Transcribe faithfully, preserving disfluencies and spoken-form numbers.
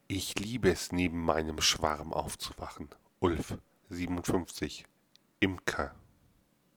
Ich liebe es, neben meinem Schwarm aufzuwachen. Ulf, siebenundfünfzig, Imker.